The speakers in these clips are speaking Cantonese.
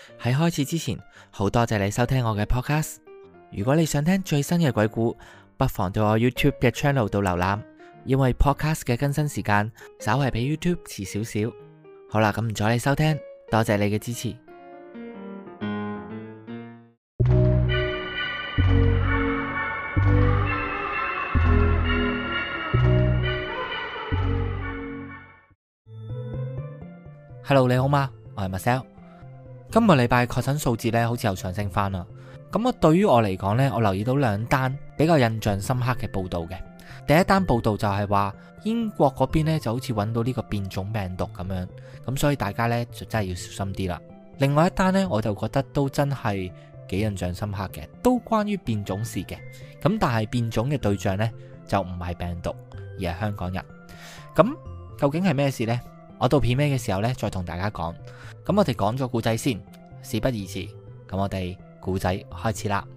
喺開始之前，好多謝你收聽我嘅 podcast。如果你想聽最新嘅鬼故，不妨到我 YouTube 嘅 channel 度瀏覽，因為 podcast 嘅更新時間稍為比 YouTube 遲少少。好啦，咁唔阻你收聽，多謝你嘅支持。Hello， 你好嗎？我係 Marcel。今個禮拜確診數字咧，好似又上升翻啦。咁對於我嚟講呢，我留意到兩單比較印象深刻嘅報道嘅。第一單報道就係話英國嗰邊呢就好似揾到呢個變種病毒咁樣，咁所以大家呢就真係要小心啲啦。另外一單呢，我就覺得都真係幾印象深刻嘅，都關於變種事嘅。咁但係變種嘅對象呢，就唔係病毒，而係香港人。咁究竟係咩事呢？我到片尾嘅時候呢，再同大家講。咁我哋講咗故仔先，事不宜遲。咁我哋故仔開始啦。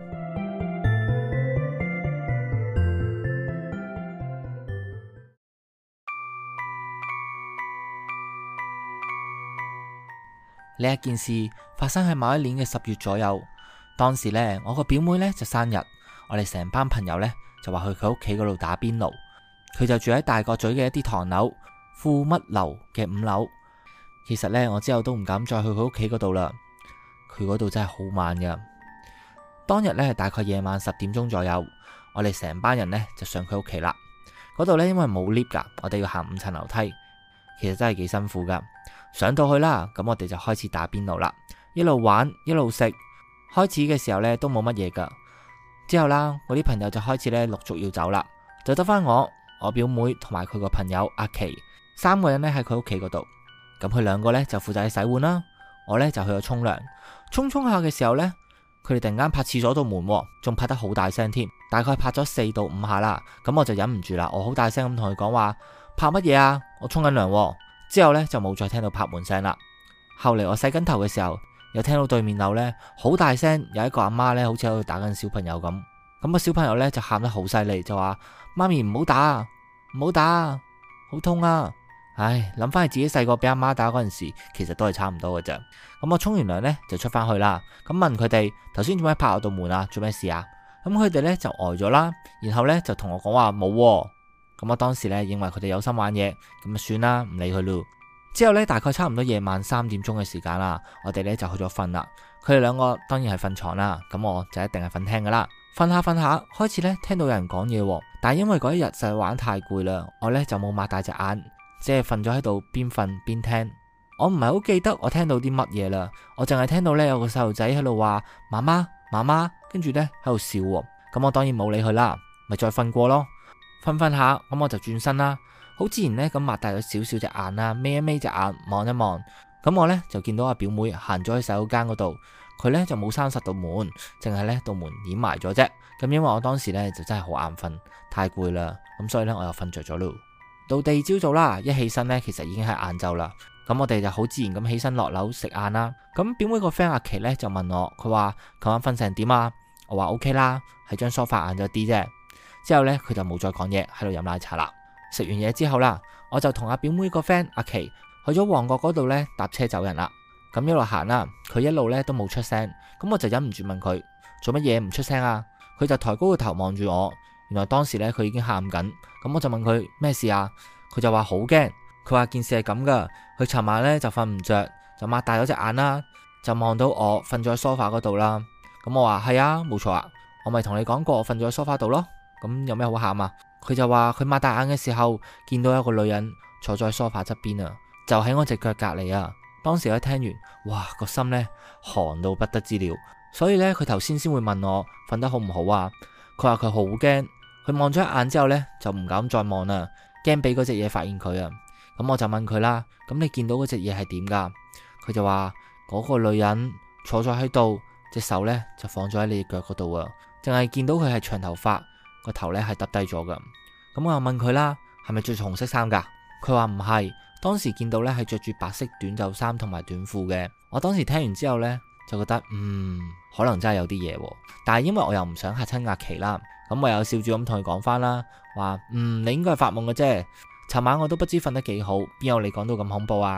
呢一件事發生喺某一年嘅10月左右。當時呢，我個表妹呢就生日，我哋成班朋友呢就話去佢屋企嗰度打邊爐。佢就住喺大角咀嘅一啲唐樓富乜樓嘅5樓。其實呢，我之後都唔敢再去佢屋企嗰度啦。佢嗰度真係好慢噶。當日呢，係大概夜晚10點鐘左右，我哋成班人呢就上佢屋企啦。嗰度呢，因為冇 lift 噶，我哋要行5層樓梯，其實真係幾辛苦噶。上到去啦，咁我哋就開始打邊爐啦，一路玩一路食。開始嘅時候呢，都冇乜嘢噶，之後啦，我啲朋友就開始呢陸續要走啦，就得翻我表妹同埋佢個朋友阿琪3個人呢喺佢屋企嗰度。咁佢2個呢就負責去洗碗啦，我呢就去咗沖涼。沖下嘅時候呢，佢哋突然間拍廁所道門，仲拍得好大聲添，大概拍咗4到5下啦。咁我就忍唔住啦，我好大聲咁同佢講話：拍乜嘢啊？我沖緊涼。之後呢，就冇再聽到拍門聲啦。後嚟我洗緊頭嘅時候，又聽到對面樓呢好大聲，有一個阿媽呢好似喺度打緊小朋友咁。咁個小朋友呢就喊得好犀利，就話：媽咪唔好打啊，唔好打啊，好痛啊！唉，諗翻起自己細個俾阿媽打嗰陣時，其實都係差唔多嘅啫。咁我沖完涼呢，就出翻去啦。咁問佢哋頭先做咩拍我道門啊？做咩事啊？咁佢哋呢就呆咗啦，然後呢就同我講話冇。咁我當時呢認為佢哋有心玩嘢，咁就算啦，唔理佢咯。之後呢，大概差唔多夜晚3點鐘嘅時間啦，我哋呢就去咗瞓啦。佢哋2個當然係瞓床啦，咁我就一定係瞓廳噶啦。瞓下開始呢聽到有人講嘢，但係因為嗰一日實在玩太攰啦，我呢就冇擘大隻眼，即係瞓咗喺度邊瞓邊聽。我唔係好記得我聽到啲乜嘢啦，我淨係聽到呢有個細路仔喺度話媽媽媽媽，跟住呢喺度笑。咁我當然冇理佢啦，咪再瞓過咯。瞓下，咁我就轉身啦，好自然呢咁擘大咗少少隻眼啦，眯一眯隻眼望一望。咁我呢就見到阿表妹行咗去洗手間嗰度，佢呢就冇閂實道門，淨係呢道門掩埋咗啫。咁因為我當時呢就真係好眼瞓，太攰啦，咁所以呢我又瞓着咗咯。到第二朝早啦，一起身呢其實已經係晏晝啦。咁我哋就好自然咁起身落樓食晏啦。咁表妹個 friend 阿琪呢就問我，佢話琴晚瞓成點啊？我話 OK 啦，係張梳化硬咗啲啫。之後呢，佢就冇再講嘢，喺度飲奶茶啦。食完嘢之後啦，我就同阿表妹個 friend 阿琪去咗旺角嗰度呢搭車走人啦。咁一路行啦，佢一路呢都冇出聲。咁我就忍唔住問佢做乜嘢唔出聲啊？佢就抬高個頭望住我。原來當時呢，佢已經喊緊。咁我就問佢咩事啊？佢就話好驚。佢話件事係咁噶，佢尋晚呢就瞓唔着，就擘大咗隻眼啦，就望到我瞓咗喺梳化嗰度啦。咁我話係啊，冇錯啊，我咪同你講過我瞓咗喺梳化度咯。咁有咩好喊啊？佢就話佢擘大眼嘅時候見到有個女人坐咗喺梳化側邊啊，就喺我隻腳隔籬啊。當時我聽完，哇，個心呢寒到不得之了。所以呢，佢頭先會問我瞓得好唔好啊？佢話佢好驚，佢望咗一眼之後呢，就唔敢再望啦，驚俾嗰隻嘢發現佢啊。咁我就問佢啦，咁你見到嗰隻嘢係點噶？佢就話嗰個女人坐咗喺度，隻手呢就放咗喺你腳嗰度啊，淨係見到佢係長頭髮，個頭呢係耷低咗噶。咁我又問佢啦，係咪着住紅色衫噶？佢話唔係，當時見到呢係着住白色短袖衫同埋短褲嘅。我當時聽完之後呢，就覺得可能真係有啲嘢，但係因為我又唔想嚇親阿琪啦，咁我又笑住咁同佢講翻啦，話你應該係發夢嘅啫。尋晚我都不知瞓得幾好，邊有你講到咁恐怖啊？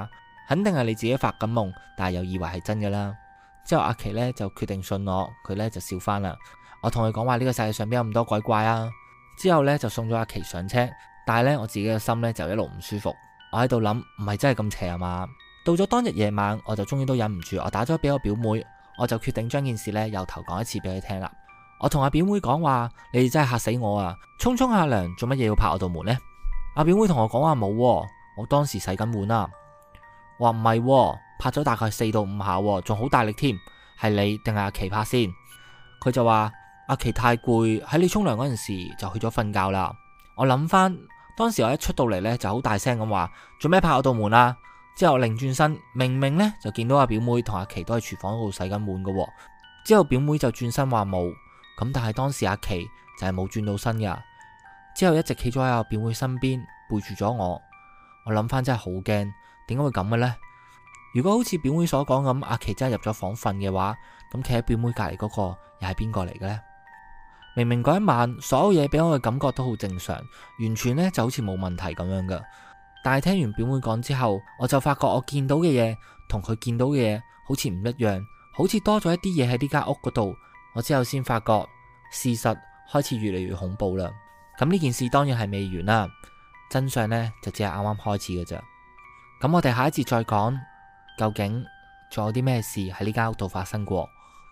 肯定係你自己發緊夢，但係又以為係真噶啦。之後阿琪呢就決定信我，佢呢就笑翻啦。我同佢講話呢個世界上邊有咁多鬼怪啊。之後呢就送咗阿琪上車，但係呢我自己嘅心呢就一路唔舒服。我喺度諗，唔係真係咁邪啊嘛。到咗當日夜晚，我就終於都忍唔住，我打咗俾我表妹，我就決定將件事呢由頭講一次俾佢聽啦。我同阿表妹講話，你哋真係嚇死我啊！沖下涼做乜嘢要拍我道門呢？阿表妹同我講話冇，我當時洗緊碗啊。話唔係，拍咗大概4到5下，仲好大力添。係你定係阿琪拍先？佢就話阿琪太攰，喺你沖涼嗰陣時就去咗瞓覺啦。我諗翻當時我一出到嚟呢，就好大聲咁話，做咩拍我道門啊？之後擰轉身，明明呢就見到阿表妹同阿琪都喺廚房度洗緊碗噶。之後表妹就轉身話冇，咁但係當時阿琪就係冇轉到身噶。之後一直企咗喺阿表妹身邊，背住咗我。我諗翻真係好驚，點解會咁嘅呢？如果好似表妹所講咁，阿琪真係入咗房瞓嘅話，咁企喺表妹隔籬嗰個又係邊個嚟嘅呢？明明嗰一晚所有嘢俾我嘅感覺都好正常，完全呢就好似冇問題咁樣噶。但係聽完表妹講之後，我就發覺我見到嘅嘢同佢見到嘅嘢好似唔一樣，好似多咗一啲嘢喺呢間屋嗰度。我之後先發覺事實開始越嚟越恐怖啦。咁呢件事當然係未完啦，真相呢就只係啱啱開始嘅咋。咁我哋下一節再講，究竟仲有啲咩事喺呢間屋度發生過？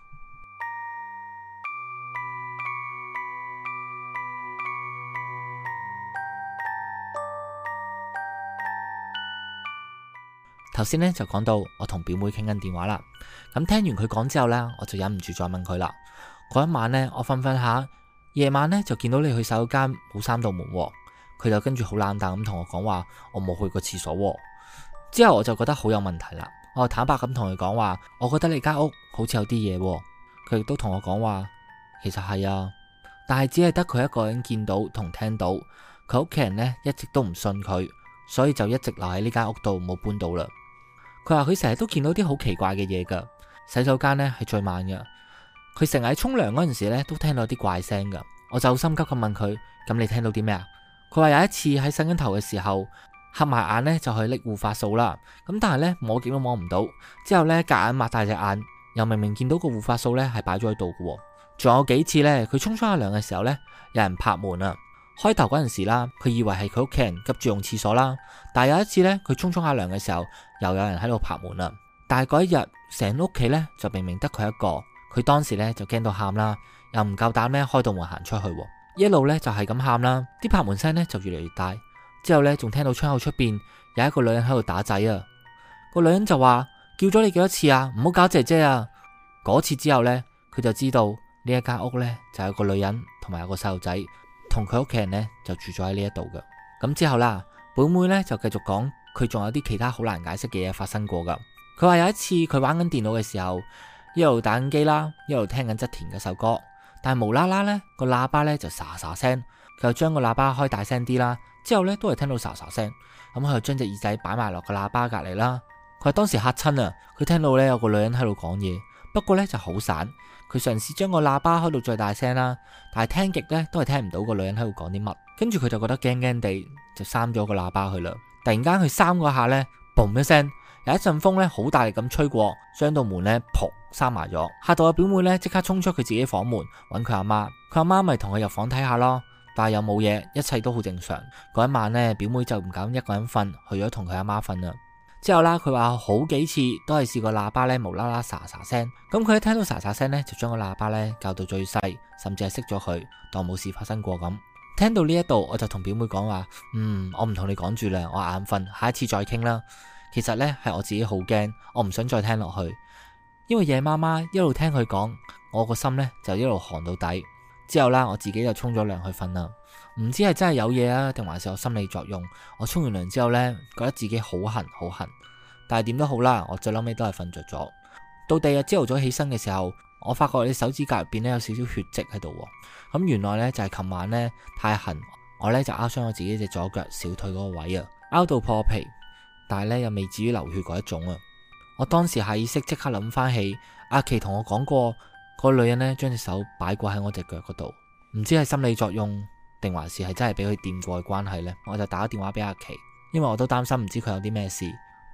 頭先呢就講到我同表妹傾緊電話啦，咁聽完佢講之後呢，我就忍唔住再問佢啦。嗰一晚呢，我瞓下，夜晚呢就見到你去洗手間冇閂到門，佢就跟住好冷淡咁同我講話，我冇去過廁所。之後我就覺得好有問題啦，我就坦白咁同佢講話，我覺得你間屋好似有啲嘢。佢亦都同我講話，其實係啊，但係只係得佢一個人見到同聽到，佢屋企人呢一直都唔信佢，所以就一直留喺呢間屋度冇搬到啦。佢話佢成日都見到啲好奇怪嘅嘢噶，洗手間呢係最慢噶，佢成日喺沖涼嗰陣時呢都聽到啲怪聲噶。我就好心急咁問佢，咁你聽到啲咩啊？佢話有一次喺洗緊頭嘅時候，合埋眼呢就去拎護髮素啦，咁但係呢摸極都摸唔到，之後呢夾硬擘大隻眼，又明明見到個護髮素呢係擺咗喺度嘅。仲有幾次呢，佢沖下涼嘅時候呢，有人拍門啊。開頭嗰陣時啦，佢以為係佢屋企人急住用廁所啦，但係有一次呢，佢沖下涼嘅時候，又有人喺度拍門啦。但係嗰一日，成屋企呢就明明得佢一個，佢當時呢就驚到喊啦，又唔夠膽呢開道門行出去，一路呢就係咁喊啦，啲拍門聲呢就越嚟越大。之後呢，仲聽到窗口出邊有一個女人喺度打仔啊，個女人就話叫咗你幾多次啊，唔好搞姐姐啊。嗰次之後呢，佢就知道呢一間屋呢就有個女人同埋有個細路仔。同佢屋企人呢就住咗喺呢一度嘅。咁之後啦，表妹呢就繼續講佢仲有啲其他好難解釋嘅嘢發生過噶。佢話有一次佢玩緊電腦嘅時候，一路打緊機啦，一路聽緊側田嘅首歌，但係無啦啦呢個喇叭呢就沙沙聲，佢就將個喇叭開大聲啲啦，之後呢都係聽到沙沙聲，咁佢就將隻耳仔擺埋落個喇叭隔籬啦。佢話當時嚇親啊，佢聽到呢有個女人喺度講嘢，不過呢就好散。佢嘗試將個喇叭開到最大聲啦，但係聽極呢都係聽唔到個女人喺度講啲乜。跟住佢就覺得驚驚地，就閂咗個喇叭去啦。突然間佢閂嗰下呢，嘣一聲，有一陣風呢好大力咁吹過，將道門呢噗閂埋咗，嚇到阿表妹呢即刻衝出佢自己房門揾佢阿媽。佢阿媽咪同佢入房睇下咯，但係又冇嘢，一切都好正常。嗰一晚呢，表妹就唔敢一個人瞓，去咗同佢阿媽瞓啦。之後啦，佢話好幾次都係試過喇叭咧無啦啦沙沙聲，咁佢一聽到沙沙聲呢，就將個喇叭咧校到最細，甚至係熄咗佢，當冇事發生過咁。聽到呢一度，我就同表妹講話，我唔同你講住啦，我眼瞓，下一次再傾啦。其實呢係我自己好驚，我唔想再聽落去，因為夜媽媽一路聽佢講，我個心呢就一路寒到底。之後啦，我自己就沖咗涼去瞓啦。唔知係真係有嘢啊，定還是有心理作用？我沖完涼之後呢，覺得自己好痕好痕，但係點都好啦，我最嬲尾都係瞓着咗。到第二日朝頭早起身嘅時候，我發覺我啲手指甲入邊呢有少少血跡喺度，咁原來呢就係琴晚呢太痕，我呢就拗傷我自己隻左腳小腿嗰個位啊，拗到破皮，但係呢又未至於流血嗰一種啊。我當時下意識即刻諗翻起阿琪同我講過，個女人呢將隻手擺過喺我隻腳嗰度，唔知係心理作用定還是係真係俾佢掂過嘅關係呢？我就打咗電話俾阿琪，因為我都擔心唔知佢有啲咩事。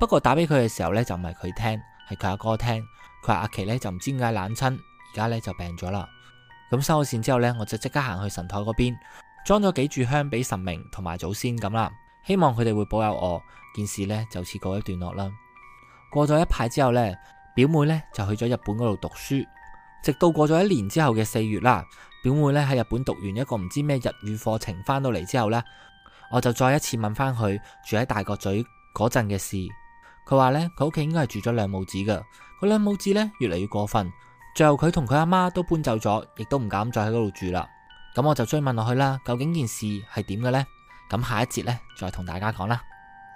不過打俾佢嘅時候呢，就唔係佢聽，係佢阿哥聽。佢話阿琪呢，就唔知點解冷親，而家呢，就病咗啦。咁收咗線之後呢，我就即刻行去神台嗰邊，裝咗幾炷香俾神明同埋祖先咁啦，希望佢哋會保佑我。件事呢，就此告一段落啦。過咗一排之後呢，表妹呢，就去咗日本嗰度讀書，直到過咗1年之後嘅4月啦。表妹呢，喺日本讀完一個唔知咩日語課程翻到嚟之後呢，我就再一次問翻佢住喺大角咀嗰陣嘅事。佢話呢，佢屋企應該係住咗兩母子噶，個兩母子呢，越嚟越過分，最後佢同佢阿媽都搬走咗，亦都唔敢再喺嗰度住啦。咁我就追問落去啦，究竟件事係點嘅呢？咁下一節呢，再同大家講啦。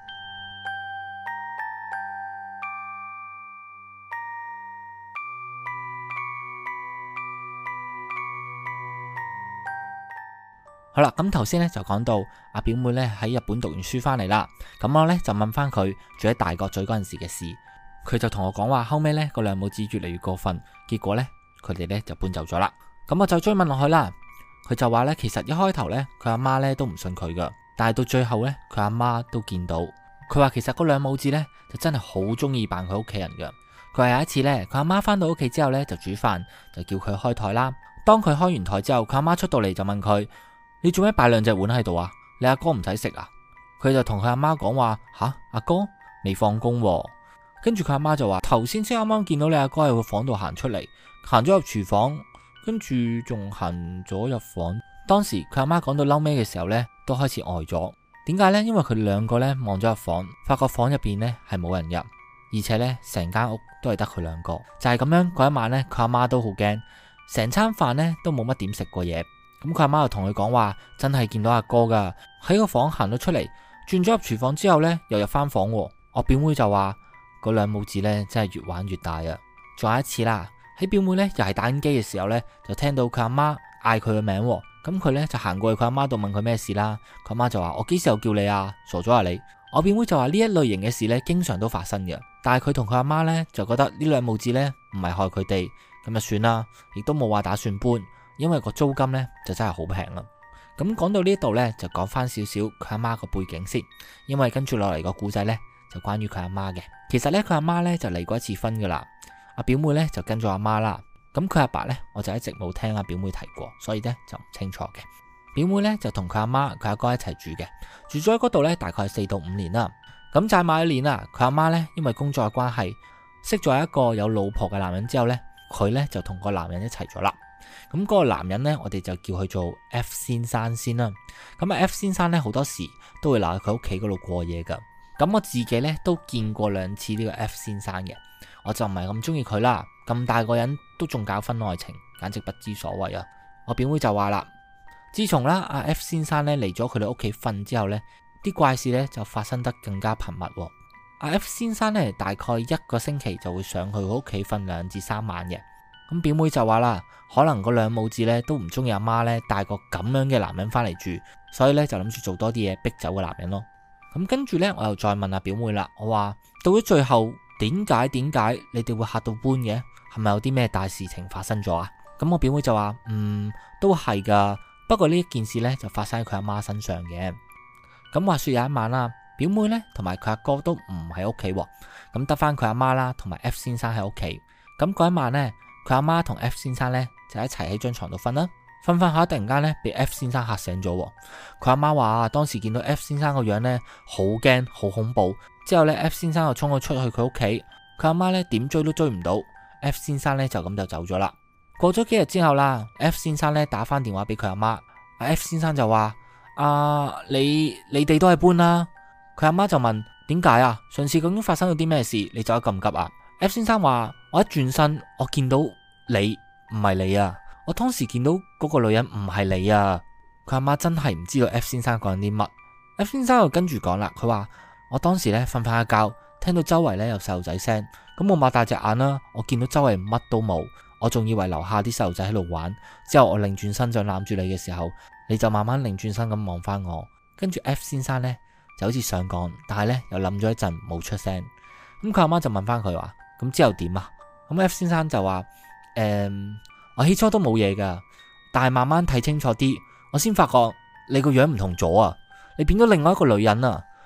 好啦，咁頭先咧就講到阿表妹咧喺日本讀完書翻嚟啦，咁我咧就問翻佢住喺大角咀嗰陣時嘅事，佢就同我講話後尾咧個兩母子越嚟越過分，結果咧佢哋咧就搬走咗啦。咁我就追問落去啦，佢就話咧其實一開頭咧佢阿媽咧都唔信佢噶，但係到最後咧佢阿媽都見到，佢話其實嗰兩母子咧就真係好中意扮佢屋企人噶。佢話有一次咧佢阿媽翻到屋企之後咧就煮飯，就叫佢開台啦。當佢開完台之後，佢阿媽出到嚟就問佢：你做咩擺兩隻碗喺度啊？你阿哥唔使食啊？佢就同佢阿媽講話：吓，阿哥未放工喎。跟住佢阿媽就話：頭先先啱啱見到你阿哥喺個房度行出嚟，行咗入廚房，跟住仲行咗入房。當時佢阿媽講到嬲尾嘅時候呢，都開始呆咗。點解呢？因為佢哋兩個呢望咗入房，發覺房入邊呢係冇人入，而且呢成間屋都係得佢兩個。就係咁樣，嗰一晚呢，佢阿媽都好驚，成餐飯呢都冇乜點食過嘢。咁佢阿媽就同佢講話，真係見到阿哥噶喺個房行咗出嚟，轉咗入廚房之後呢，又入翻房。我表妹就話嗰兩母子呢真係越玩越大啊！仲有一次啦，喺表妹呢又係打緊機嘅時候呢，就聽到佢阿媽嗌佢嘅名，咁佢呢就行過去佢阿媽度問佢咩事啦。佢阿媽就話：我幾時又叫你啊？傻咗啊你！我表妹就話呢一類型嘅事呢經常都發生嘅，但係佢同佢阿媽呢就覺得呢兩母子呢唔係害佢哋，咁就算啦，亦都冇話打算搬。因為個租金呢就真係好平啦。咁講到呢度呢，就講翻少少佢阿媽個背景先。因為跟住落嚟個故仔呢，就關於佢阿媽嘅。其實呢，佢阿媽呢就離過一次婚噶啦。阿表妹呢就跟咗阿媽啦。咁佢阿爸呢，我就一直冇聽阿表妹提過，所以呢就唔清楚嘅。表妹呢就同佢阿媽、佢阿哥一齊住嘅，住咗喺嗰度呢大概係4到5年啦。咁就埋一年啦，佢阿媽呢因為工作嘅關係，識咗一個有老婆嘅男人之後呢，佢呢就同個男人一齊咗啦。咁嗰個男人呢，我哋就叫佢做 F 先生先啦。咁啊 F 先生呢，好多時都會留喺佢屋企嗰度過夜噶。咁我自己呢，都見過2次呢個 F 先生嘅，我就唔係咁中意佢啦。咁大個人都仲搞婚外情，簡直不知所謂啊！我表妹就話啦，自從啦阿 F 先生呢嚟咗佢哋屋企瞓之後呢，啲怪事呢就發生得更加頻密。阿 F 先生呢，大概1個星期就會上去佢屋企瞓2至3晚嘅。咁表妹就話啦，可能嗰兩母子咧都唔中意阿媽咧帶個咁樣嘅男人翻嚟住，所以咧就諗住做多啲嘢逼走個男人咯。咁跟住咧，我又再問阿表妹啦，我話到咗最後點解你哋會嚇到搬嘅？係咪有啲咩大事情發生咗啊？咁我表妹就話都係噶，不過呢一件事咧就發生喺佢阿媽身上嘅。咁話說有一晚啦，表妹咧同埋佢阿哥都唔喺屋企，咁得翻佢阿媽啦同埋 F 先生喺屋企。咁嗰一晚咧，佢阿媽同 F 先生咧就一齊喺張床度瞓啦，瞓下突然間咧被 F 先生嚇醒咗。佢阿媽話當時見到 F 先生個樣咧好驚好恐怖，之後咧 F 先生就衝咗出去佢屋企，佢阿媽咧點追都追唔到 F 先生咧就咁就走咗啦。過咗幾日之後啦， F 先生咧打翻電話俾佢阿媽，F 先生就話你哋都係搬啦。佢阿媽就問點解啊？上次究竟發生咗啲咩事？你走得咁急啊？F 先生話：我一轉身，我見到你唔係你啊！我當時見到嗰個女人唔係你啊！佢阿媽真係唔知道 F 先生講緊啲乜。F 先生又跟住講啦，佢話我當時咧瞓翻一覺，聽到周圍咧有細路仔聲，咁我擘大隻眼啦，我見到周圍乜都冇，我仲以為樓下啲細路仔喺度玩。之後我擰轉身就攬住你嘅時候，你就慢慢擰轉身咁望翻我，跟住 F 先生咧就好似想講，但係咧又諗咗一陣冇出聲。咁佢阿媽就問翻佢話：咁之後點啊？咁 F 先生就話：我起初都冇嘢噶，但係慢慢睇清楚啲，我先發覺你個樣唔同咗啊！你變咗另外一個女人啊！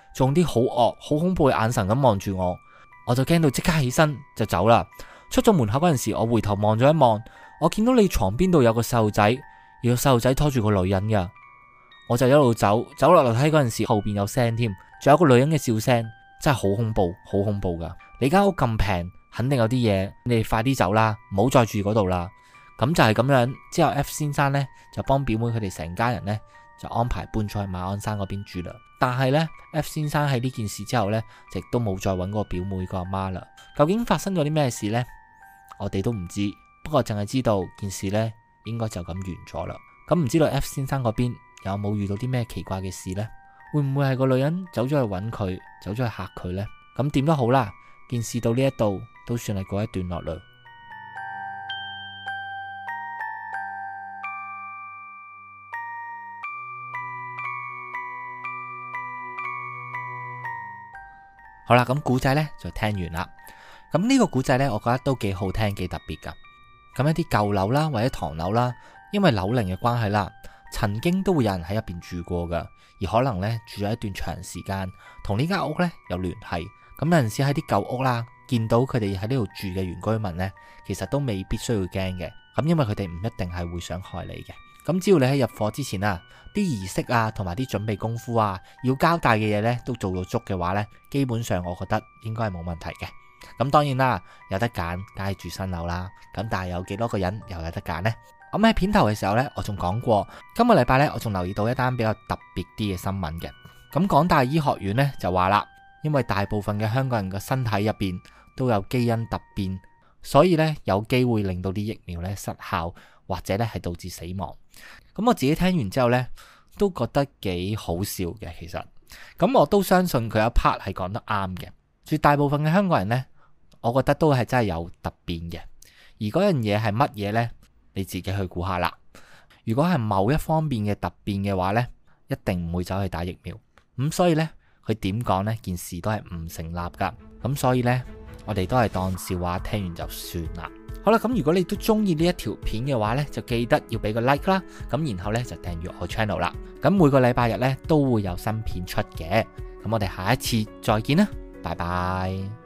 仲啲好惡、好恐怖嘅眼神咁望住我，我就驚到即刻起身就走啦。出咗門口嗰陣時，我回頭望咗一望，我見到你床邊度有個細路仔，而個細路仔拖住個女人噶。我就一路走落樓梯嗰陣時，後邊有聲添，仲有個女人嘅笑聲，真係好恐怖，好恐怖噶。你間屋咁平，肯定有啲嘢，你哋快啲走啦，唔好再住嗰度啦。咁就係咁樣。之後 F 先生呢，就幫表妹佢哋成家人呢，就安排搬咗去馬鞍山嗰邊住啦。但係呢 F 先生喺呢件事之後呢，亦都冇再揾過表妹個阿媽啦。究竟發生咗啲咩事呢？我哋都唔知，不過淨係知道件事呢，應該就咁完咗啦。咁唔知道 F 先生嗰邊有冇遇到啲咩奇怪嘅事呢？會唔會係個女人走咗去揾佢，走咗去嚇佢呢？咁點都好啦，件事到呢一度都算係告一段落啦。好啦，咁古仔呢就聽完啦。咁呢個古仔呢，我覺得都幾好聽，幾特別噶。咁一啲舊樓啦，或者唐樓啦，因為樓齡嘅關係啦，曾經都會有人喺入邊住過噶，而可能呢，住咗一段長時間，同呢間屋呢有聯繫。咁有陣時喺啲舊屋啦，見到佢哋喺呢度住嘅原居民呢，其實都未必需要驚嘅。咁因為佢哋唔一定係會想害你嘅。咁只要你喺入伙之前啊，啲儀式啊，同埋啲準備功夫啊，要交代嘅嘢呢都做到足嘅話呢，基本上我覺得應該係冇問題嘅。咁當然啦，有得揀梗係住新樓啦。咁但係有幾多個人又有得揀呢？咁喺片頭嘅時候呢，我仲講過，今個禮拜呢，我仲留意到一單比較特別啲嘅新聞嘅。咁港大醫學院呢就話啦，因為大部分嘅香港人嘅身體入邊都有基因突變，所以呢有機會令到啲疫苗呢失效，或者呢係導致死亡。咁我自己聽完之後呢，都覺得幾好笑嘅。其實咁我都相信佢有一 part 係講得啱嘅。絕大部分嘅香港人呢，我覺得都係真係有突變嘅。而嗰樣嘢係乜嘢呢？你自己去估下啦。如果係某一方面嘅突變嘅話呢，一定唔會走去打疫苗。咁所以呢，佢點講呢？件事都係唔成立噶。咁所以呢，我哋都係當笑話聽完就算啦。好啦，咁如果你都中意呢一條片嘅話呢，就記得要俾個 like 啦。咁然後呢，就訂閱我 channel 啦。咁每個禮拜日呢，都會有新片出嘅。咁我哋下一次再見啦，拜拜。